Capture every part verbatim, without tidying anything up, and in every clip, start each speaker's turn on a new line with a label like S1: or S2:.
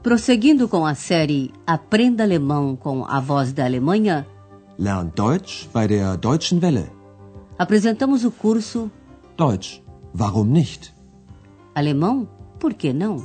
S1: Prosseguindo com a série Aprenda Alemão com a Voz da Alemanha,
S2: Lern Deutsch bei der Deutschen Welle.
S1: Apresentamos o curso
S2: Deutsch, warum nicht?
S1: Alemão, por que não?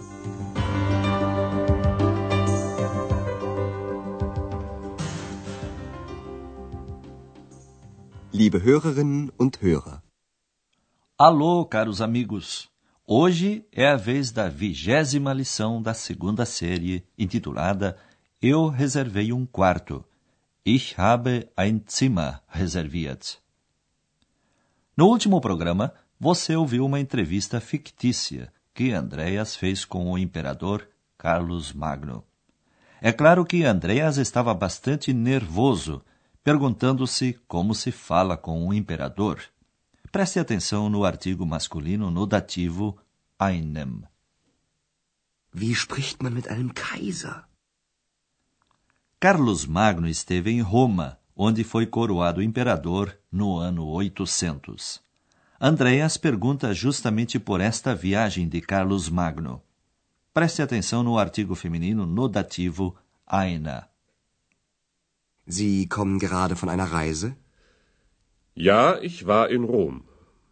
S3: Liebe Hörerinnen und Hörer.
S4: Alô, caros amigos! Hoje é a vez da vigésima lição da segunda série, intitulada Eu reservei um quarto. Ich habe ein Zimmer reserviert. No último programa, você ouviu uma entrevista fictícia que Andreas fez com o imperador Carlos Magno. É claro que Andreas estava bastante nervoso, perguntando-se como se fala com um imperador. Preste atenção no artigo masculino no dativo einem.
S3: Wie spricht man mit einem Kaiser?
S4: Carlos Magno esteve em Roma, onde foi coroado imperador no ano oitocentos. Andreas pergunta justamente por esta viagem de Carlos Magno. Preste atenção no artigo feminino no dativo eine.
S3: Sie kommen gerade von einer Reise?
S5: Ja, ich war in Rom.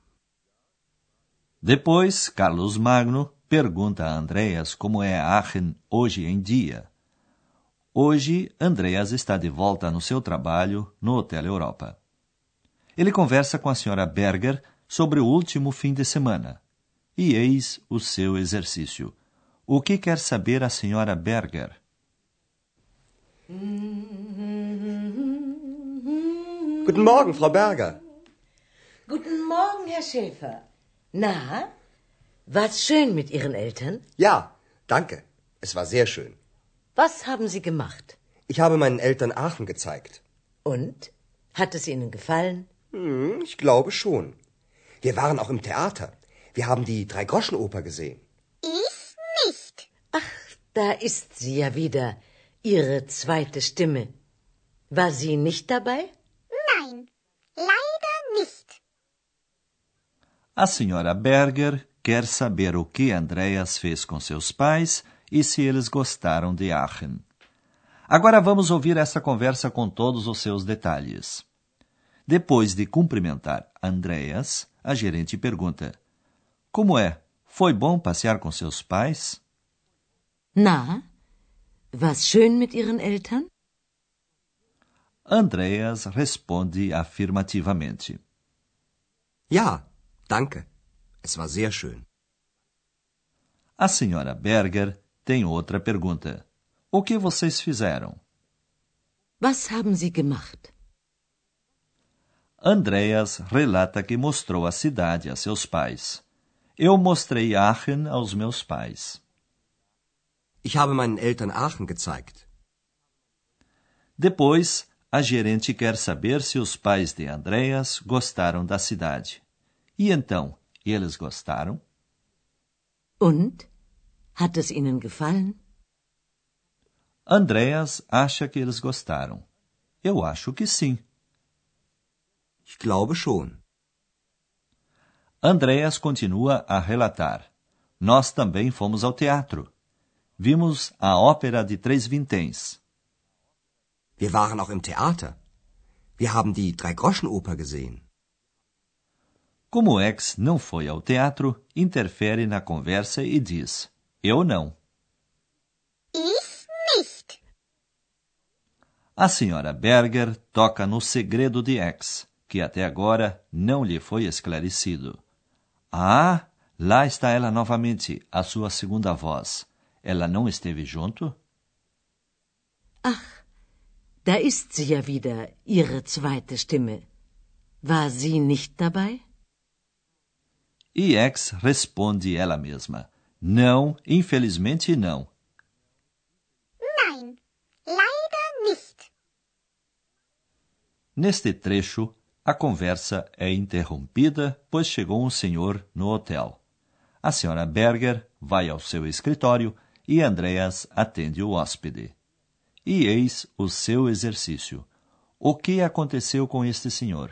S4: Depois, Carlos Magno pergunta a Andreas como é Aachen hoje em dia. Hoje, Andreas está de volta no seu trabalho no Hotel Europa. Ele conversa com a senhora Berger sobre o último fim de semana. E eis o seu exercício. O que quer saber a senhora Berger?
S3: Guten Morgen, Frau Berger.
S6: Guten Morgen, Herr Schäfer. Na, war's schön mit Ihren Eltern?
S3: Ja, danke. Es war sehr schön.
S6: Was haben Sie gemacht?
S3: Ich habe meinen Eltern Aachen gezeigt.
S6: Und? Hat es Ihnen gefallen?
S3: Hm, ich glaube schon. Wir waren auch im Theater. Wir haben die Drei-Groschen-Oper gesehen.
S7: Ich nicht.
S6: Ach, da ist sie ja wieder, Ihre zweite Stimme. War sie nicht dabei?
S7: Nein, leider nicht.
S4: A senhora Berger quer saber o que Andreas fez com seus pais e se eles gostaram de Aachen. Agora vamos ouvir essa conversa com todos os seus detalhes. Depois de cumprimentar Andreas, a gerente pergunta: Como é? Foi bom passear com seus pais?
S6: Na, war's schön mit Ihren Eltern?
S4: Andreas responde afirmativamente.
S3: Ja, danke. Es war sehr schön.
S4: A senhora Berger tem outra pergunta. O que vocês fizeram?
S6: Was haben Sie gemacht?
S4: Andreas relata que mostrou a cidade a seus pais. Eu mostrei Aachen aos meus pais.
S3: Ich habe meinen Eltern Aachen gezeigt.
S4: Depois, a gerente quer saber se os pais de Andreas gostaram da cidade. E então, eles gostaram?
S6: Und? Hat es Ihnen gefallen?
S4: Andreas acha que eles gostaram. Eu acho que sim.
S3: Ich glaube schon.
S4: Andreas continua a relatar. Nós também fomos ao teatro. Vimos a ópera de Três Vinténs.
S3: Wir waren auch im Theater. Wir haben die Drei-Groschen-Oper gesehen.
S4: Como o ex não foi ao teatro, interfere na conversa e diz: Eu não.
S7: Ich nicht.
S4: A senhora Berger toca no segredo de ex, que até agora não lhe foi esclarecido. Ah, lá está ela novamente, a sua segunda voz. Ela não esteve junto?
S6: Ach, da ist sie ja wieder, Ihre zweite Stimme. War sie nicht dabei?
S4: E ex responde ela mesma. Não, infelizmente não.
S7: Nein, leider nicht.
S4: Neste trecho, a conversa é interrompida, pois chegou um senhor no hotel. A senhora Berger vai ao seu escritório e Andreas atende o hóspede. E eis o seu exercício. O que aconteceu com este senhor?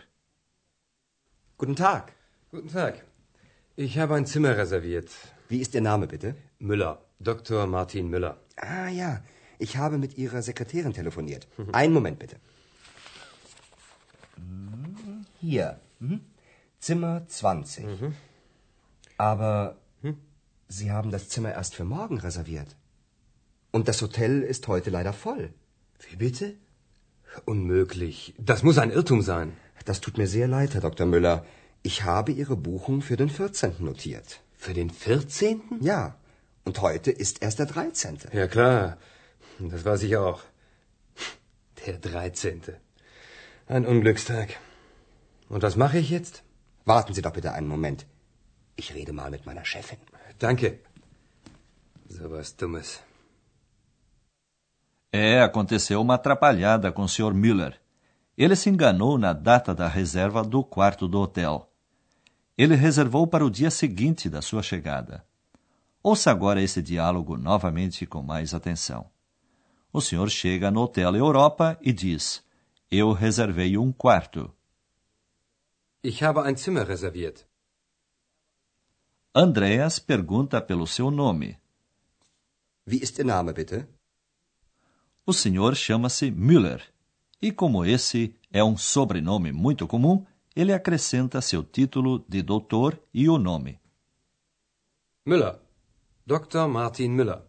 S3: Guten Tag.
S8: Guten Tag. Ich habe ein Zimmer reserviert.
S3: Wie ist Ihr Name, bitte?
S8: Müller, Doktor Martin Müller.
S3: Ah ja, ich habe mit Ihrer Sekretärin telefoniert. Einen Moment bitte. Hier, mhm. Zimmer zwanzig. Mhm. Aber hm? Sie haben das Zimmer erst für morgen reserviert. Und das Hotel ist heute leider voll.
S8: Wie bitte? Unmöglich. Das muss ein Irrtum sein.
S3: Das tut mir sehr leid, Herr Doktor Müller. Ich habe Ihre Buchung für den vierzehnten notiert.
S8: Für den vierzehnten?
S3: Ja. Und heute ist erst der dreizehnte.
S8: Ja, klar. Das weiß ich auch. Der dreizehnte. Ein Unglückstag. Und was mache ich jetzt?
S3: Warten Sie doch bitte einen Moment. Ich rede mal mit meiner Chefin.
S8: Danke. So was Dummes.
S4: É, aconteceu uma atrapalhada com o senhor Müller. Ele se enganou na data da reserva do quarto do hotel. Ele reservou para o dia seguinte da sua chegada. Ouça agora esse diálogo novamente com mais atenção. O senhor chega no Hotel Europa e diz: Eu reservei um quarto.
S8: Ich habe ein Zimmer reserviert.
S4: Andreas pergunta pelo seu nome.
S3: Wie ist Ihr Name, bitte?
S4: O senhor chama-se Müller. E como esse é um sobrenome muito comum, ele acrescenta seu título de doutor e o nome.
S8: Müller. Doktor Martin Müller.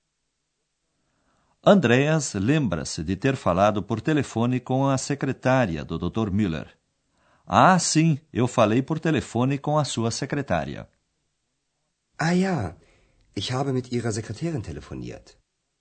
S4: Andreas lembra-se de ter falado por telefone com a secretária do doutor Müller. Ah, sim, eu falei por telefone com a sua secretária.
S3: Ah ja, ich habe mit Ihrer Sekretärin telefoniert.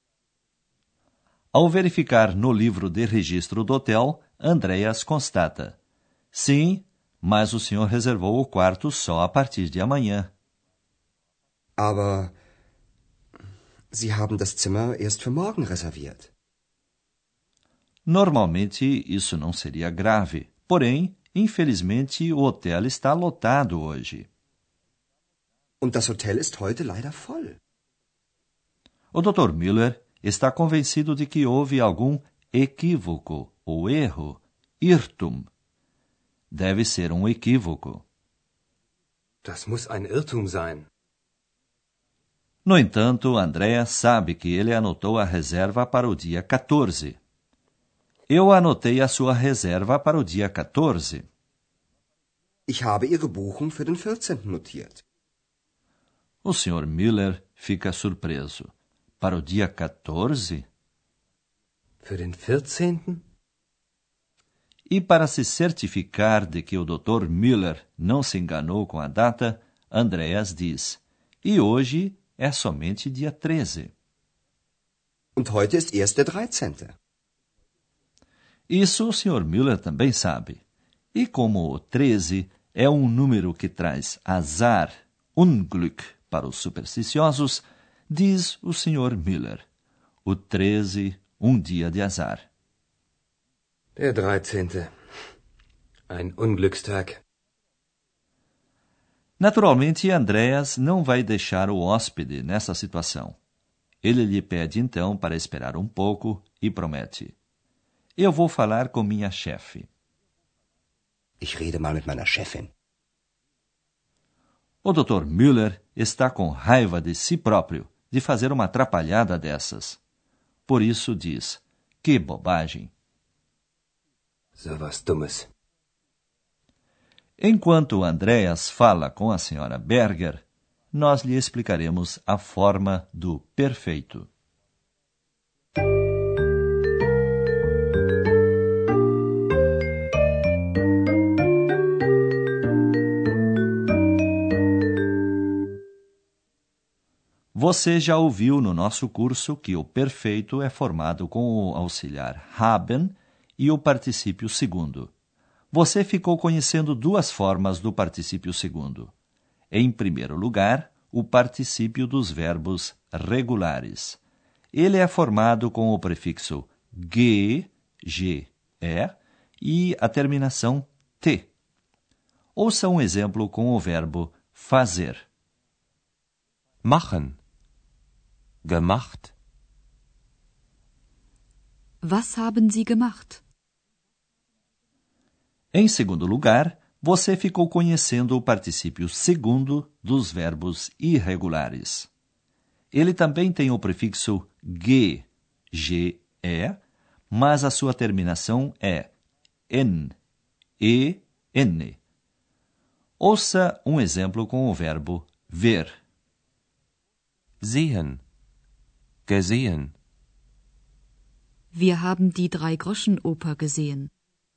S4: Ao verificar no livro de registro do hotel, Andreas constata: Sim, mas o senhor reservou o quarto só a partir de amanhã.
S3: Aber Sie haben das Zimmer erst für morgen reserviert.
S4: Normalmente isso não seria grave, porém, infelizmente, o hotel está lotado hoje.
S3: Und das Hotel ist heute leider voll.
S4: O doutor Müller está convencido de que houve algum equívoco ou erro, Irrtum. Deve ser um equívoco.
S8: Das muss ein Irrtum sein.
S4: No entanto, Andreas sabe que ele anotou a reserva para o dia quatorze. Eu anotei a sua reserva para o dia quatorze.
S3: Ich habe Ihre Buchung für den vierzehnten notiert.
S4: O senhor Müller fica surpreso. Para o dia quatorze?
S8: Für den vierzehnten?
S4: E para se certificar de que o doutor Müller não se enganou com a data, Andreas diz: E hoje é somente dia treze.
S3: Und heute ist erst der dreizehnte.
S4: Isso o senhor Müller também sabe. E como o treze é um número que traz azar, Unglück, para os supersticiosos, diz o senhor Müller: O treze, um dia de azar.
S8: Der dreizehnte. Ein Unglückstag.
S4: Naturalmente, Andreas não vai deixar o hóspede nessa situação. Ele lhe pede então para esperar um pouco e promete: Eu vou falar com minha chefe.
S3: Ich rede mal mit meiner Chefin.
S4: O doutor Müller está com raiva de si próprio de fazer uma atrapalhada dessas. Por isso diz: Que bobagem!
S8: So was Dummes.
S4: Enquanto Andreas fala com a senhora Berger, nós lhe explicaremos a forma do perfeito. Você já ouviu no nosso curso que o perfeito é formado com o auxiliar haben e o particípio segundo. Você ficou conhecendo duas formas do particípio segundo. Em primeiro lugar, o particípio dos verbos regulares. Ele é formado com o prefixo ge, ge, é, e a terminação t. Ouça um exemplo com o verbo fazer.
S9: Machen. Gemacht.
S10: Was haben Sie gemacht?
S4: Em segundo lugar, você ficou conhecendo o particípio segundo dos verbos irregulares. Ele também tem o prefixo ge, ge, mas a sua terminação é n, e, n. Ouça um exemplo com o verbo ver.
S9: Sehen. Gesehen.
S10: Wir haben die Drei-Groschen-Oper gesehen.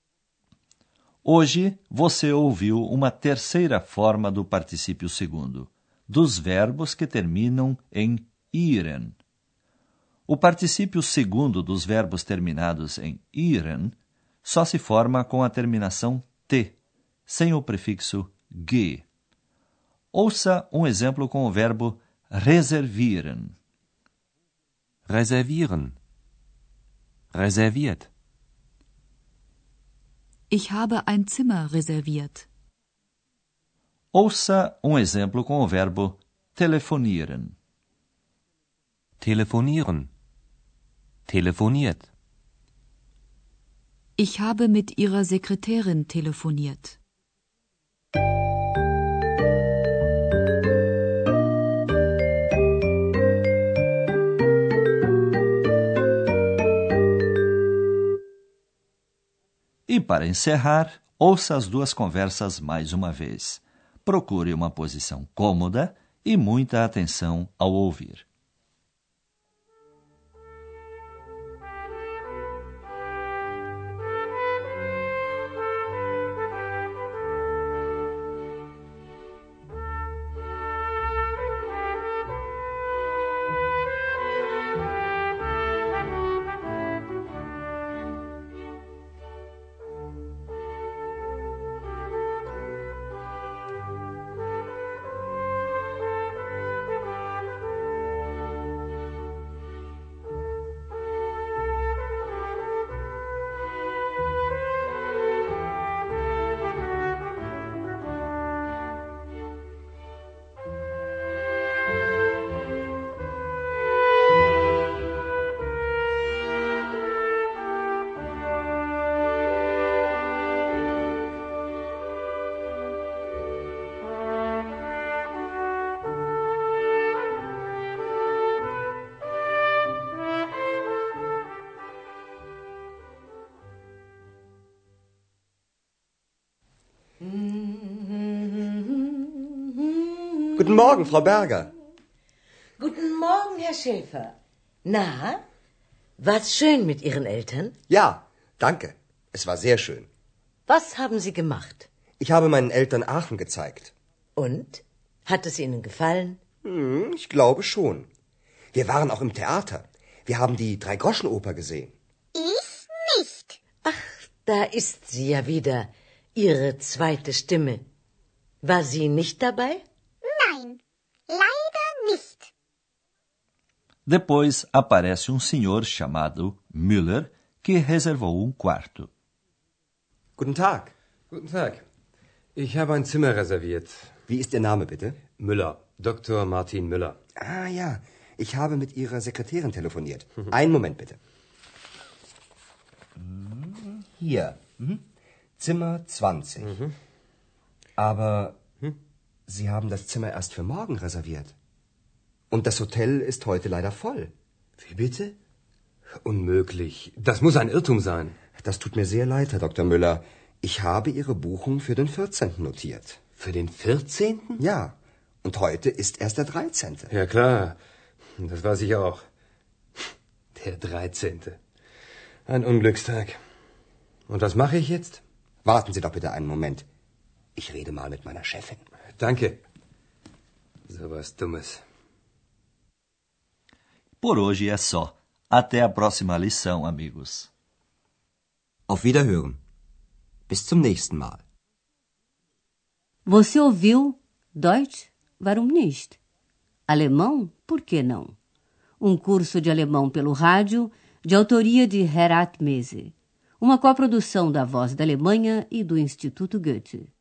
S4: Hoje você ouviu uma terceira forma do particípio segundo, dos verbos que terminam em iren. O particípio segundo dos verbos terminados em iren só se forma com a terminação t, sem o prefixo ge. Ouça um exemplo com o verbo reservieren.
S9: Reservieren. Reserviert.
S10: Ich habe ein Zimmer reserviert.
S4: Ouça um exemplo com o verbo telefonieren.
S9: Telefonieren. Telefoniert.
S10: Ich habe mit ihrer Sekretärin telefoniert.
S4: E para encerrar, ouça as duas conversas mais uma vez. Procure uma posição cômoda e muita atenção ao ouvir.
S3: Guten Morgen, Frau Berger.
S6: Guten Morgen, Herr Schäfer. Na, war's schön mit Ihren Eltern?
S3: Ja, danke. Es war sehr schön.
S6: Was haben Sie gemacht?
S3: Ich habe meinen Eltern Aachen gezeigt.
S6: Und? Hat es Ihnen gefallen?
S3: Hm, ich glaube schon. Wir waren auch im Theater. Wir haben die Drei-Groschen-Oper gesehen.
S7: Ich nicht.
S6: Ach, da ist sie ja wieder, Ihre zweite Stimme. War sie nicht dabei?
S7: Nein, leider nicht.
S4: Depois aparece um senhor chamado Müller que reservou um quarto.
S3: Guten Tag.
S8: Guten Tag. Ich habe ein Zimmer reserviert.
S3: Wie ist Ihr Name, bitte?
S8: Müller. Doktor Martin Müller.
S3: Ah ja, ich habe mit Ihrer Sekretärin telefoniert. Einen Moment, bitte. Hier. Mhm. Zimmer zwanzig. Mhm. Aber hm? Sie haben das Zimmer erst für morgen reserviert. Und das Hotel ist heute leider voll.
S8: Wie bitte? Unmöglich. Das muss ein Irrtum sein.
S3: Das tut mir sehr leid, Herr Doktor Müller. Ich habe Ihre Buchung für den vierzehnten notiert.
S8: Für den vierzehnten?
S3: Ja. Und heute ist erst der dreizehnte.
S8: Ja, klar. Das weiß ich auch. Der dreizehnte. Ein Unglückstag. Und was mache ich jetzt?
S3: Warten Sie doch bitte einen Moment. Ich rede mal mit meiner Chefin.
S8: Danke. So was Dummes.
S4: Por hoje é só. Até a próxima lição, amigos.
S3: Auf Wiederhören. Bis zum nächsten Mal.
S1: Você ouviu Deutsch? Warum nicht? Alemão? Por que não? Um curso de alemão pelo rádio, de autoria de Herat Mese. Uma coprodução da Voz da Alemanha e do Instituto Goethe.